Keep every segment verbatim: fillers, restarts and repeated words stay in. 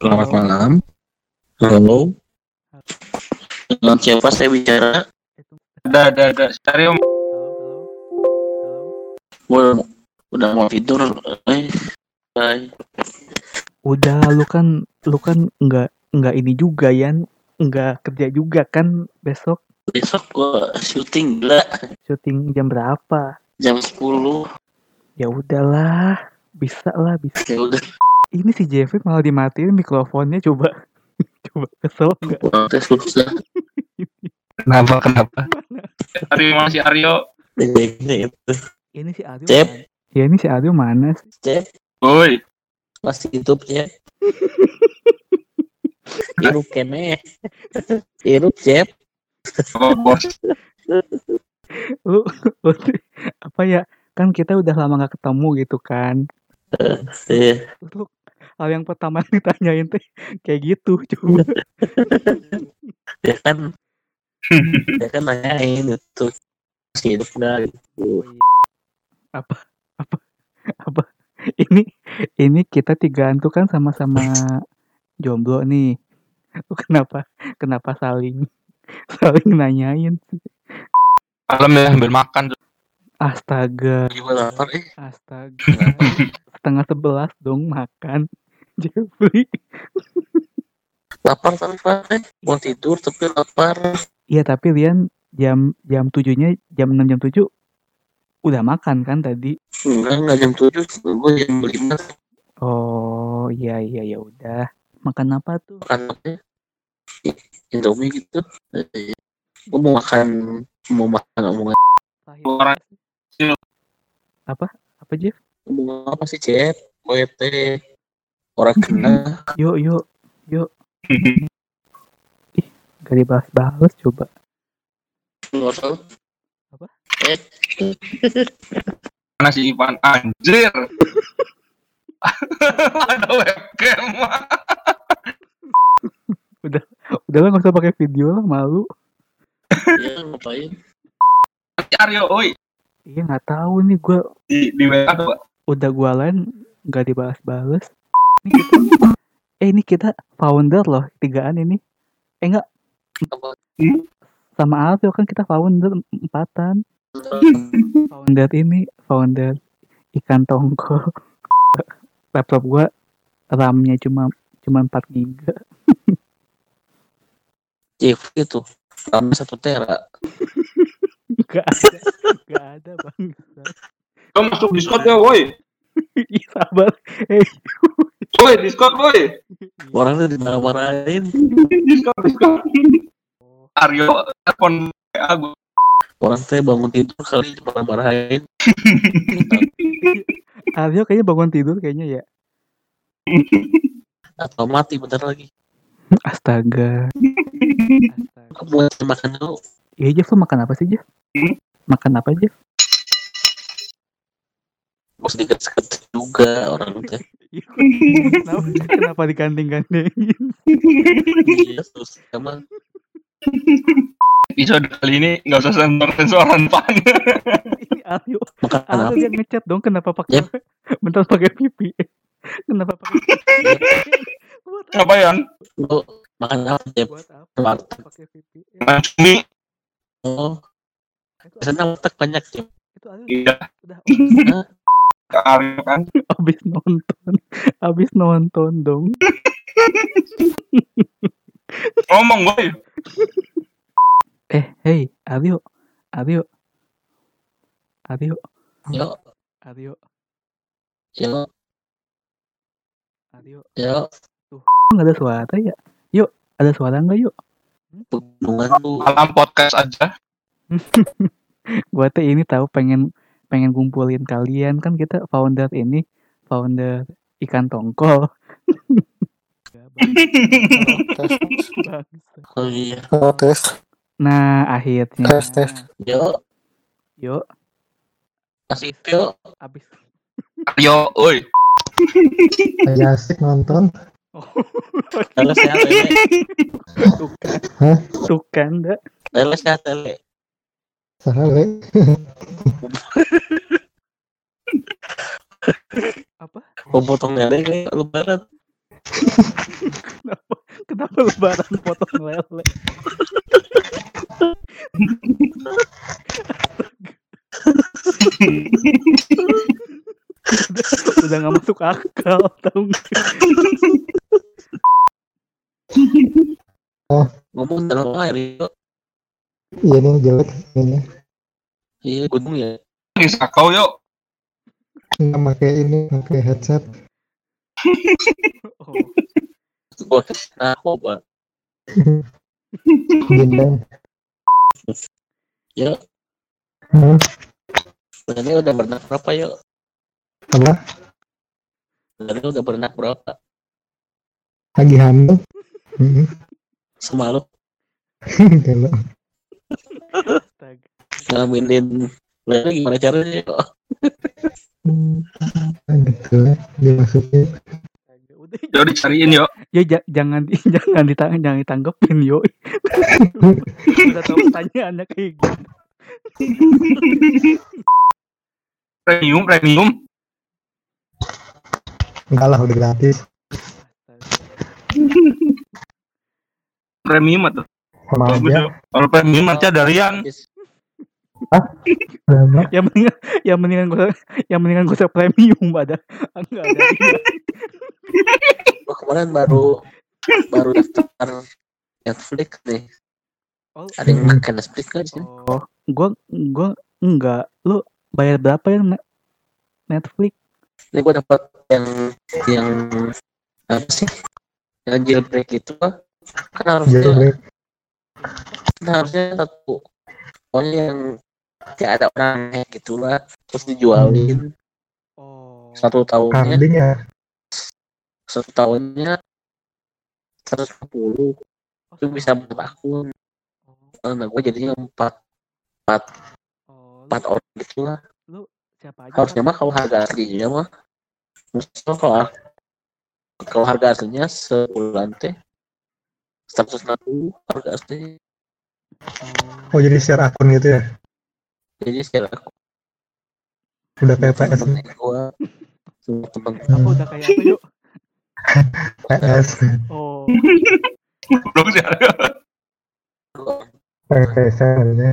Selamat Halo. malam. Halo. Dengan siapa saya bicara? Ada, ada, ada. Stereo. Halo, halo, halo. Udah, udah mau tidur. Eh, bye. Udah, lu kan, lu kan nggak nggak ini juga Yan, nggak kerja juga kan besok Besok gua syuting gila syuting jam berapa? jam sepuluh. Ya udahlah, bisa lah bisa. Ya udah, Ini si Jeffrey malah dimatiin mikrofonnya, coba, coba kesel nggak? gua tes susah. Kenapa, kenapa? Aryo masih Aryo. Ini itu. Ini si Aryo Cep. mana? Ya ini si Aryo mana sih? Cep, Woi. masih YouTube ya. Irup kene. Irup Cep. Oh, bos. Lu, lu apa ya? Kan kita udah lama nggak ketemu gitu kan? Iya. Lu hal yang pertama yang ditanyain teh kayak gitu, coba. Ya kan, ya kan nanyain itu masih hidup nggak gitu. apa apa apa ini ini kita tigaan tuh kan sama-sama jomblo nih. Lu kenapa kenapa saling saling nanyain sih? Malam ya, ambil makan. Astaga, Juga lapar eh. astaga. Setengah sebelas dong makan. Jeffrey. Lapar tapi Pak, eh. Mau tidur tapi lapar. Iya tapi Lian jam jam tujuhnya jam enam jam tujuh udah makan kan tadi? Enggak, enggak jam tujuh, gue jam lima. Oh iya iya ya udah. Makan apa tuh? Makan apa ya? Indomie gitu. Eh, gue mau makan, mau makan omongan. Orang Apa? Apa Jeff? Ngomong apa sih, Cep? O E T. Orang kena. Yuk yuk yuk. Ih, gak dibahas-bahas coba. Nggak usah. Apa? Eh, mana si Ivan? Anjir. Ada webcam. Udah udah lah nggak usah pakai video lah, malu. ya ngapain? Si Aryo, oi. Iya nggak tahu nih gue Di di W A tuh, Pak. udah gue lain nggak dibahas-bahas. Ini kita, eh ini kita founder loh tigaan ini. Eh enggak Apa? sama Alvio kan kita founder empatan. Founder ini founder ikan tongkol. Laptop gue RAM-nya cuma cuma empat giga. Cep itu. Lama satu tera. Gak ada, gak ada bang. Kau masuk Discord ya, woi. Ih sabar. Eh, Woi, Discord, woi. Orangnya dimarah-marahin. Discord, Discord. Aryo telepon W A gue. Orang teh bangun tidur kali dimarah-marahin. Aryo kayaknya bangun tidur kayaknya ya. Atau mati bentar lagi. Astaga. Astaga. Aku buat makan dulu. Iya Jeff, lu makan apa sih Jeff? Hmm? Makan apa Jeff? Gue sedikit seket juga orang teh. kenapa, kenapa digandeng-gandengin? Iya, terus emang Episode kali ini nggak usah sensor-sensoran, Pan. Ini Aryo. makan Aryo apa? dia ngechat dong kenapa pakai Yep. bentar pakai V P N. Kenapa pakai V P N? Buat apa? Ngapain? Lu makan apa, Cep? Buat apa? Warteg. Pakai V P N. Makan cumi. Oh, Itu biasanya warteg banyak, Cep. itu Aryo Iya, udah Hah? ke Aryo kan. habis nonton. Habis nonton dong. Ngomong, woi. Eh, hey, Aryo. Aryo. Aryo. Yuk, Aryo. yuk, Aryo. yuk. Nggak ada suara ya? Yuk, ada suara nggak yuk? Hubungan lu. Malam podcast aja. Gua tuh ini tahu pengen pengen kumpulin kalian kan kita founder ini founder ikan tongkol. Bangsa. Oh iya. Oh, tes, Nah akhirnya. tes, tes. Yuk, Yuk, masih yuk. abis. Aryo, woi. Lagi asik nonton. Oh, Leles ya, lele. tuh kan, Hah? tuh kan, dah. Leles ya, lele. Salah, le. Apa? Mau potong lele kayak lebaran. Lebaran potong lele. udah, udah gak masuk akal, tau gak? Oh, Ngomong dalam air yuk. iya nih jelek ini. Iya gunung ya. Sakau yuk. Nggak pakai ini, pakai headset. Oh, Gua narkoba. Gendang. Ya, Hmm, sebenarnya udah berenang berapa yuk? apa? Sebenarnya udah berenang berapa? Lagi hamil? Hmm, Sama lu kalau astaga. ngambilin lele gimana caranya yuk? hmm, gitu lah, dimasukin. Astaga. Udah, Yuk dicariin yuk. ya ja- jangan di- jangan ditang jangan ditanggepin yo. Udah tahu pertanyaannya kayak gitu. Premium, premium. Enggak lah, udah gratis. Astaga. Premium atau? Sama Bagus aja. yuk. Kalau premium nanti ada Rian. Sama. Yang mendingan yang mendingan gue yang mendingan gue premium ada enggak ada. Gua kemarin baru baru daftar Netflix nih. Oh, Ada yang Hmm. pakai Netflix kan sih? oh, gue gue enggak. Lu bayar berapa ya Net- Netflix? Ini gua dapat yang yang apa sih? Yang jailbreak itu kan harusnya Jailbreak. kan harusnya satu pokoknya yang kayak ada orang hack gitu lah terus dijualin Oh. satu tahunnya Kambing ya. satu tahunnya seratus lima puluh Oh, itu bisa buat akun. Oh, Nah gue jadinya empat empat oh, lu, empat orang gitu lah. lu siapa aja? Harusnya Kak? mah kalau harga aslinya mah maksudnya kalau kalau harga aslinya sebulan teh seratus enam puluh harga aslinya. Oh, Oh, jadi share akun gitu ya. Jadi secara aku Udah kayak P S. temen gue semua temen apa udah kayak apa yuk? P S. Oh, Belum sih. gue P S aja.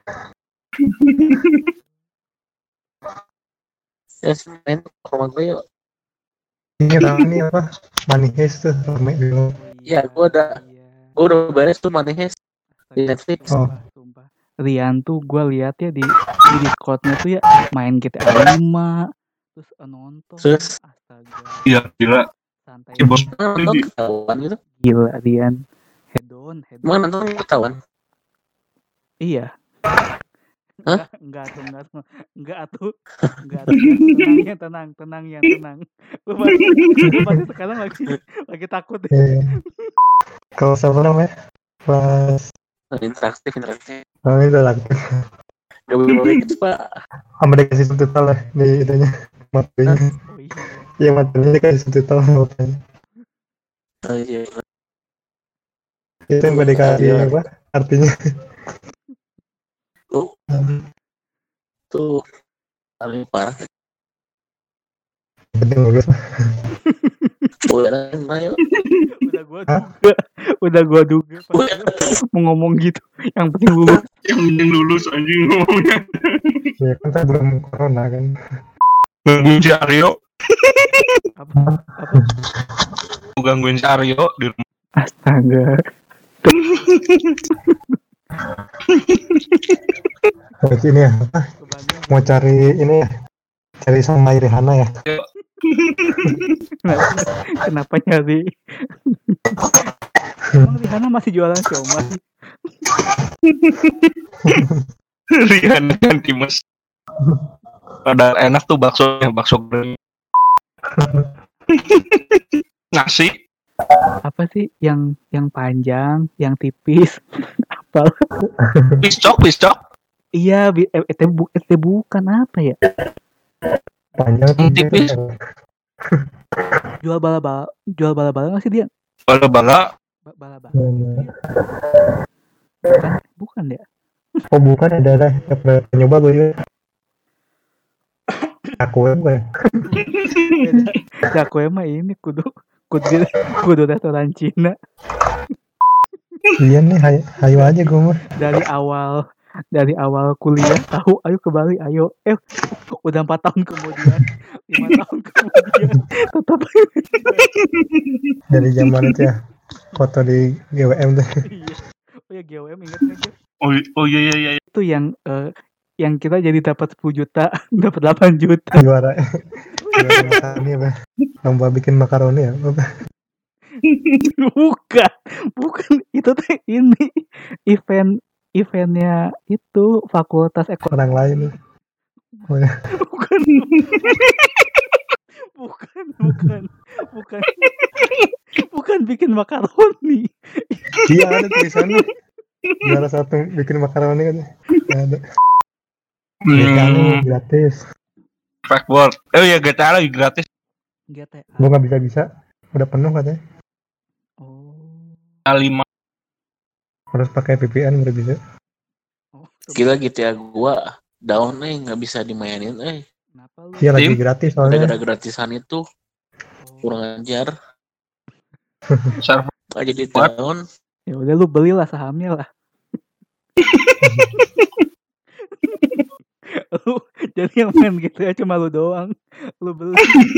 ya main ke rumah gue yuk. Ini tahu nih apa? Money Heist tuh rame dulu. Ya, gua udah- iya. Gue udah beres tuh Money Heist di Astaga, Netflix. Oh. sumpah, sumpah. Rian tuh gue lihat ya di di Discordnya tuh ya main G T A lima terus eh, nonton. Terus? Astaga, Iya, gila. santai. Si bos. Nah, nonton ketahuan gitu. Gila Rian. Head on, head on. Emang nonton ketahuan. Iya. Hah? Enggak, enggak tuh, enggak tuh, enggak tuh, enggak tuh. Tenang ya, tenang, tenang ya, tenang. Lu pasti, lu pasti sekarang lagi, lagi takut. Eh, Kalau siapa namanya? Pas Interaktif, interaktif. kami udah lakukan. Gak boleh gitu pak. Sama dikasih subtitle lah di itunya. Materinya. Oh iya. Iya, materinya dikasih subtitle matanya. Oh iya. Itu yang gue dikasih Iya. apa? Artinya. Tuh, tuh paling parah. Penting bagus. Bukan main. Udah gua duga, udah gua duga pas lu mau ngomong gitu. Yang penting lulus. Yang penting lulus anjing ngomongnya. Ya kan saya belum corona kan. Gangguin si Aryo. Apa? Apa? Gua gangguin si Aryo di rumah. Astaga. Berarti ini ya, apa? Kebanyakan. Mau cari ini ya. Cari sama Rihanna ya. Kenapa, kenapa nyari? Emang Rihanna masih jualan siomay? Rian dan Timus. Padahal enak tuh baksonya, bakso goreng. Nasi. Apa sih yang yang panjang, yang tipis? Apa? Piscok, piscok. Iya, bi- eh, eh, bu- eh, bukan apa ya? Panjang tuh. Tipis. Jual bala-bala, jual bala-bala nggak sih dia? Bala-bala. Ba- Bala-bala. Hmm. Bukan, bukan ya? Oh bukan, ada ada. Saya pernah nyoba gue juga. Aku ya bukan. Ya aku emang ini kudu kudu kudu restoran Cina. Iya nih, hayu, hayu aja gue mah. Dari awal dari awal kuliah tahu ayo ke Bali ayo eh udah empat tahun kemudian lima tahun kemudian tetap Dari zaman itu ya, foto di G W M tuh. iya. Oh ya G W M ingat nggak Jeff? Oh, oh iya iya iya. Itu yang eh, yang kita jadi dapat sepuluh juta dapat delapan juta. Juara, juara makaroni apa? Lomba bikin makaroni ya? Apa? Bukan, bukan itu tuh ini event eventnya itu Fakultas Ekonomi. Orang lain nih. Oh, ya. Bukan, bukan, bukan, bukan, bukan bikin makaroni. Iya ada tulisannya. Juara satu bikin makaroni kan? Ada. G T A Hmm, gratis. Fact world. Oh iya G T A lagi gratis. G T A. Gue nggak bisa bisa. Udah penuh katanya. Oh. A lima. Harus pakai V P N baru bisa. Oh, Gila G T A gua down eh nggak bisa dimainin eh. kenapa lu? Iya lagi Tim? gratis Udah soalnya. gara gratisan itu Oh. kurang ajar. Server. Nggak jadi What? down. Ya udah lu belilah sahamnya lah. Lu jadi yang main gitu ya cuma lu doang. Lu beli.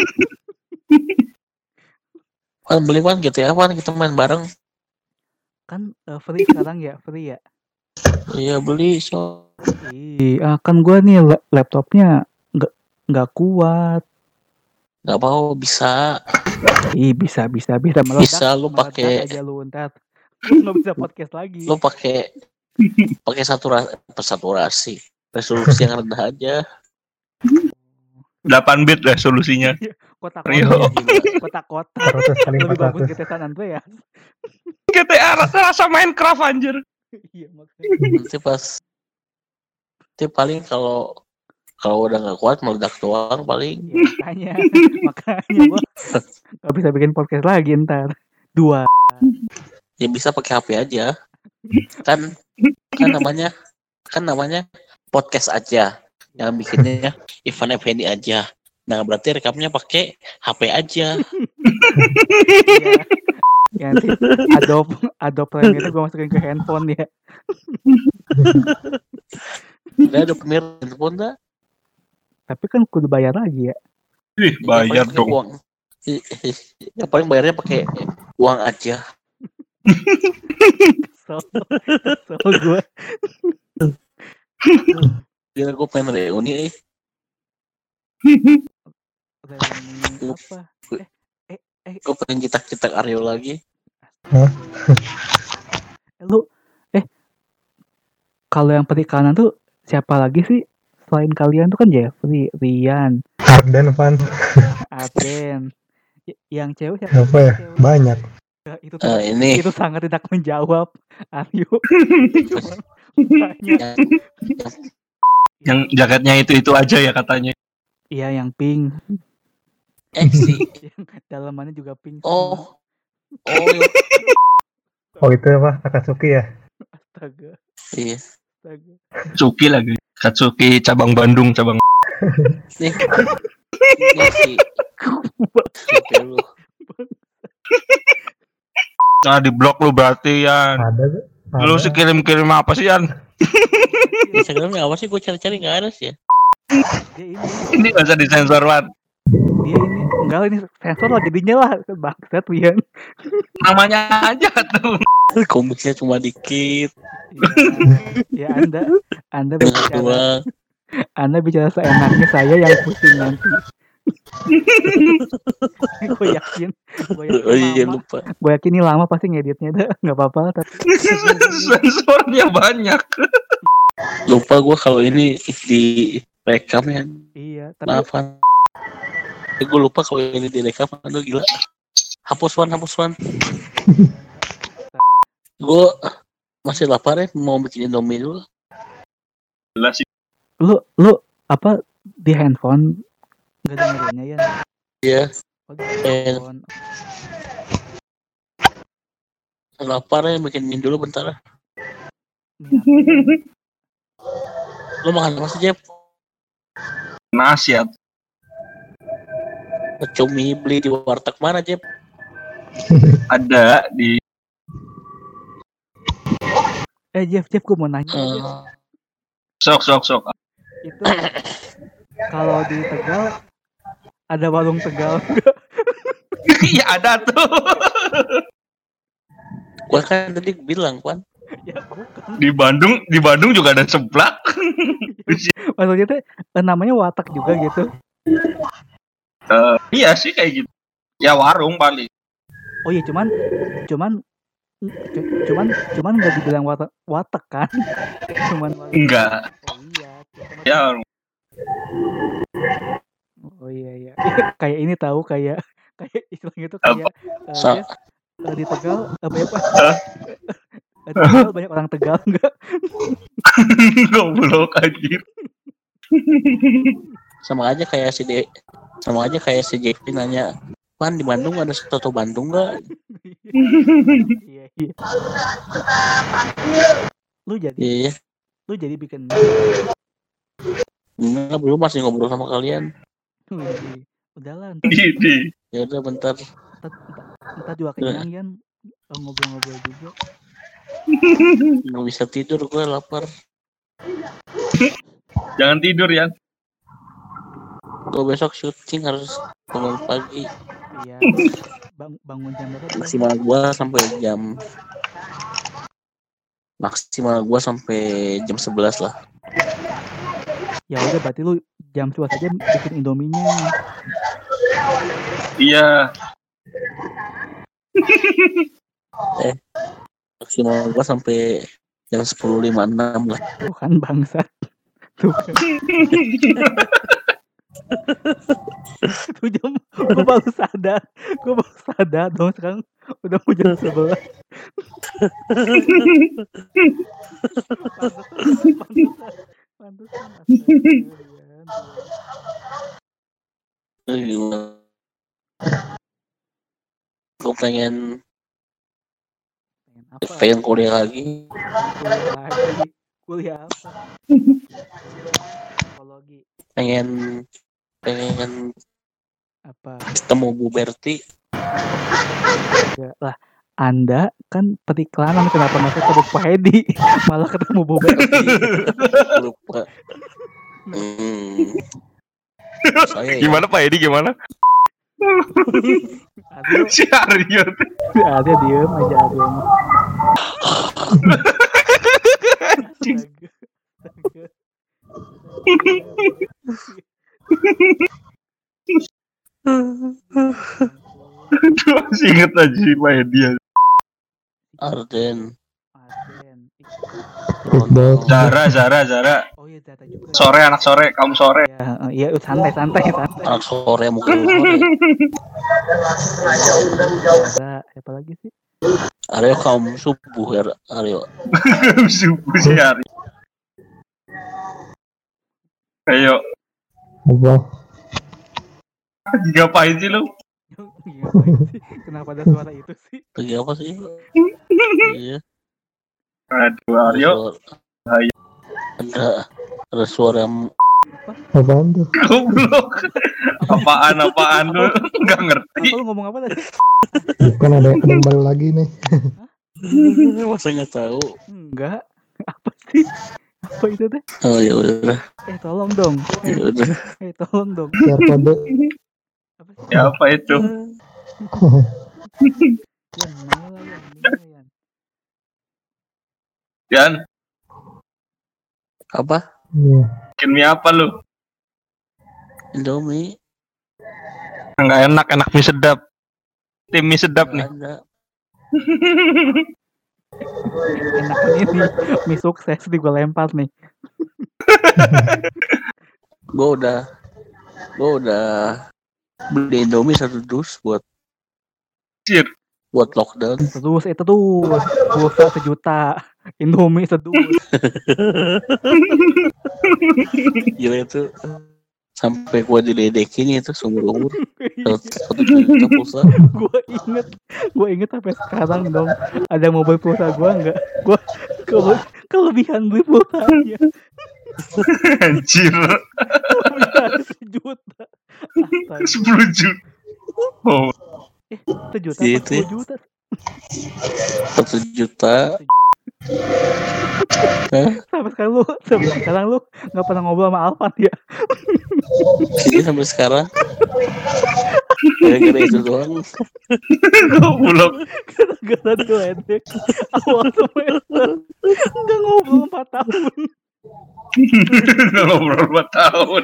Kan beli kan G T A kan kita main bareng. Kan eh, free sekarang ya, free ya. Iya beli so. Iya, kan gua nih la- laptopnya nggak nggak kuat. Nggak mau bisa. Ih, bisa bisa bisa meledak. Bisa lu meledak pakai aja lu ntar. Lu nggak bisa podcast lagi. lu pakai pakai saturasi saturasi resolusi yang rendah aja. delapan bit resolusinya. Kotak Rio. kotak kotak kotak. seratus kali Lebih empat bagus ratus. G T A San Andreas. G T A rasa rasa Minecraft anjir. Iya makanya. Nanti pas nanti paling kalau kalau udah nggak kuat meledak doang paling. Ya, makanya makanya gua nggak bisa bikin podcast lagi ntar. Dua. Ya bisa pakai H P aja. Kan kan namanya kan namanya podcast aja. Yang bikinnya Ivan Effendi aja. Nah berarti rekamnya pakai H P aja. Iya. Ya nanti Adobe Adobe Premiere gue masukin ke handphone ya. Udah ada Premiere handphone dah. Tapi kan kudu bayar lagi ya. Ih, bayar pakai dong. Uang. Ya paling bayarnya pakai uang aja. Kesel, kesel gue. Gila gue pengen reuni eh. Reuni apa? Eh, eh, eh, Gue pengen citak-citak Aryo lagi. lu, eh, kalau yang perikanan tuh siapa lagi sih? Selain kalian tuh kan Jeffrey, Rian, Arden Van. Arden. Y- yang cewek siapa? Apa ya? Cewek. Banyak. Ya, itu Eh, tuh, ini itu sangat tidak menjawab. Aryo. Cuman banyak. yang, Yang jaketnya itu itu aja ya katanya. Iya yang pink. eh sih. Yang dalamannya juga pink. Oh. Oh iya. Oh itu apa? Akatsuki ya? Astaga, Iya. astaga. Katsuki lagi. Katsuki cabang Bandung cabang. Nih. Ini sih. Oke lu. Nah di blog lu berarti ya. Ada tuh. Lu sih kirim-kirim apa sih Yan? Instagramnya apa sih? Gue cari-cari nggak ada sih ya. Dia ini, Ini nggak usah disensor Wan. dia ini enggak ini sensor lah jadinya lah bangsat Rian. Namanya aja tuh. Komiknya cuma dikit. Ya, ya anda anda Tengah bicara doang. anda bicara seenaknya saya yang pusing nanti. Gue yakin, gue yakin Oh iya lama, lupa. gue yakin ini lama pasti ngeditnya dah nggak apa-apa tapi Sensornya banyak. Lupa gue kalau ini di rekam ya. iya tapi Maafan. Eh, gue lupa kalau ini direkam. Aduh gila. Hapus Wan, hapus Wan. Gue masih lapar ya. Mau bikin Indomie dulu. Jelas sih. lu lu apa di handphone nggak dengerinnya ya? Iya. Oh, di Eh. handphone. Lapar ya. Bikin mie dulu bentar. Ini apa? Lo makan apa sih Jep? Nasi ya. Cumi beli di warteg mana Jep? Ada di Eh Jeff, Jeff gue mau nanya Jeff. Eh, sok sok sok. Itu kalau di Tegal ada warung Tegal nggak? Iya ada tuh. gua kan tadi bilang kan Ya bukan. Di Bandung, di Bandung juga ada seblak. Maksudnya tuh eh, namanya watak juga gitu. Eh, iya sih kayak gitu. Ya warung paling. Oh iya cuman cuman cu- cuman cuman nggak dibilang watak watak kan? Cuman warung. Enggak. Oh iya. Kita Ya masih- Oh iya iya. Kayak ini tahu kayak kayak istilahnya tuh kayak eh, Sa- Jeff, eh, di Tegal eh, banyak eh, di Tegal banyak orang Tegal enggak? goblok anjir. sama aja kayak si De sama aja kayak si J P nanya, Pan di Bandung ada soto Bandung nggak? Iya iya. Lu jadi Iya, lu jadi bikin enggak, belum, masih ngobrol sama kalian. Wih, udahlah ntar, Ini. Ya udah bentar. ntar, ntar, ntar juga kenyang Yan. Eh, ngobrol-ngobrol juga. Nggak bisa tidur, gue lapar. Jangan tidur ya. Gue besok syuting harus bangun pagi. Iya. Bang, bangun jam berapa? Bang? Maksimal gue sampai jam maksimal gue sampai jam sebelas lah. Ya udah berarti lu jam sebelas aja bikin Indominya. Iya. Maksimal gue sampai jam sepuluh lima puluh enam lah. Tuh kan bangsat. Tuh kan. Tuh jam gue baru sadar. Gue baru sadar dong sekarang udah mau jam sebelas. Pantesan, pantesan. Gue pengen Pengen apa? pengen kuliah lagi. Kuliah lagi. Kuliah apa? Psikologi. Pengen pengen Apa? ketemu Bu Berti. Enggak lah. Anda kan periklanan, kenapa masuk ke Pak Hedi malah ketemu Bu Berti. Lupa. Hmm. Saya ya. Gimana Pak Edi gimana? Aduh, Si Aryo. ada diem aja ada. Astaga. Astaga. Masih inget aja si Pak Edi. Arden. Aden. Iqbal. Zara, Zara, Zara. Oh iya Zata juga. Sore anak sore, kamu sore. Ya, eh, iya santai santai santai. Anak sore mungkin sore. Zara, siapa lagi sih? Aryo kaum subuh ya Aryo. Subuh si Aryo. Ayo, Apa? ngapain sih lu? Ngapain sih? Kenapa ada suara itu sih? Lagi apa sih? Iya. Aduh, Ada Aryo. suara- Ada ada suara yang Apaan tuh? Goblok. Apaan apaan lu? Enggak ngerti. Lu ngomong apa tadi? Bukan ada ada yang baru lagi nih. masa nggak tahu. Enggak. Apa sih? Apa itu teh? Oh ya udah, Eh tolong dong. ya Eh, udah. eh tolong dong. Share kode. Apa sih? Ya apa itu? Yan, mana lah Yan? Mana Yan? Yan, Apa? Iya. bikin mie apa lu? Indomie? Enggak enak, enak mie sedap. Tim mie sedap nih. Nggak ada. Enakan ini mie sukses di gue lempar nih. Gue udah, gue udah beli Indomie satu dus buat Cir. buat lockdown. Terus itu tuh pulsa sejuta, Indomie sedus. Gila itu sampai gue diledekin itu seumur umur satu juta pulsa. Gue inget, gue inget sampai sekarang dong. Ada yang mau beli pulsa gue nggak? Gue kele kelebihan beli pulsanya. Anjir. Kelebihan sejuta. Astaga. sepuluh juta. Oh, Sejuta Gitu apa sepuluh ya. juta? Satu juta. Hah? Sampai sekarang lu, sampai sekarang lu nggak pernah ngobrol sama Alvan ya? Jadi sampai sekarang gara-gara itu doang. Goblok. Gara-gara diledek awal semester nggak ngobrol empat tahun. Kalau berapa tahun.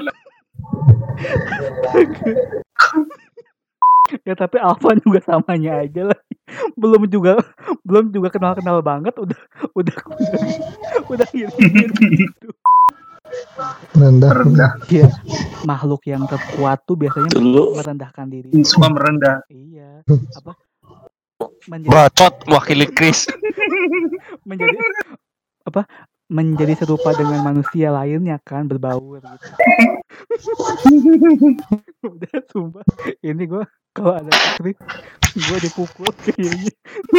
Ya tapi Alvan juga samanya aja lah. Belum juga belum juga kenal-kenal banget udah udah udah udah gini gitu. Rendah. Rendah. Iya, makhluk yang terkuat tuh biasanya Dulu merendahkan diri. Suka merendah. Iya, apa? Menjadi Bacot wakili Chris. menjadi apa? Menjadi serupa dengan manusia lainnya kan berbaur gitu. Udah sumpah, ini gue kalau ada Chris gue dipukul kayaknya.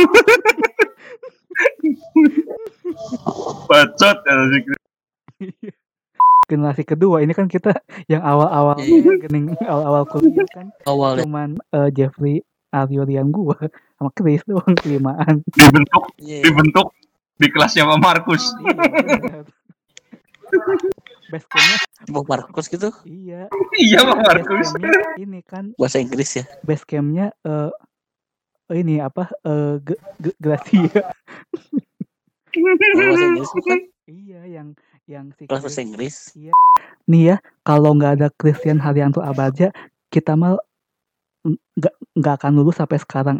Bacot ya si Chris. Generasi kedua ini kan kita yang awal-awal Iya. gening awal-awal kuliah kan awalnya cuman eh, Jeffrey Aryo Rian gua sama Chris doang kelimaan. Dibentuk, Iya. dibentuk di kelasnya Pak Markus. Iya benar. Base campnya Bang Markus gitu iya. Iya Pak Base Markus. campnya ini kan bahasa Inggris ya. base campnya eh ini apa eh G- G- Gracia. Yang bahasa Inggris bukan Iya yang yang si kelas bahasa Chris. Inggris. Nih ya kalau nggak ada Christian Haryanto Abaja kita mal nggak nggak akan lulus sampai sekarang.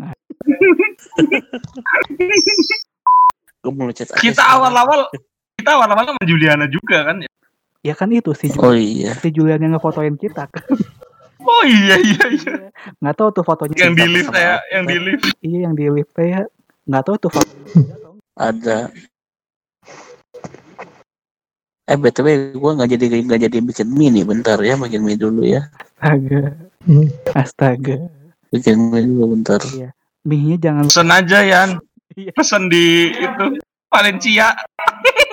Gue mau chat aja Kita sekarang. awal-awal kita awal-awal sama Juliana juga kan ya. Ya kan itu si Oh iya. si Julian yang ngefotoin kita kan. Oh iya iya iya. Nggak tahu tuh fotonya. Yang di Sama- lift sama ya, aku, yang di kan. lift. Iya yang di lift ya. Nggak tahu tuh foto. Ada. Eh B T W gue nggak jadi nggak jadi bikin mie nih, bentar ya, bikin mie dulu ya. Astaga. Hmm. Astaga. Bikin mie dulu bentar. Mie-nya jangan Pesen aja Yan. Iya. Pesen di itu Valencia.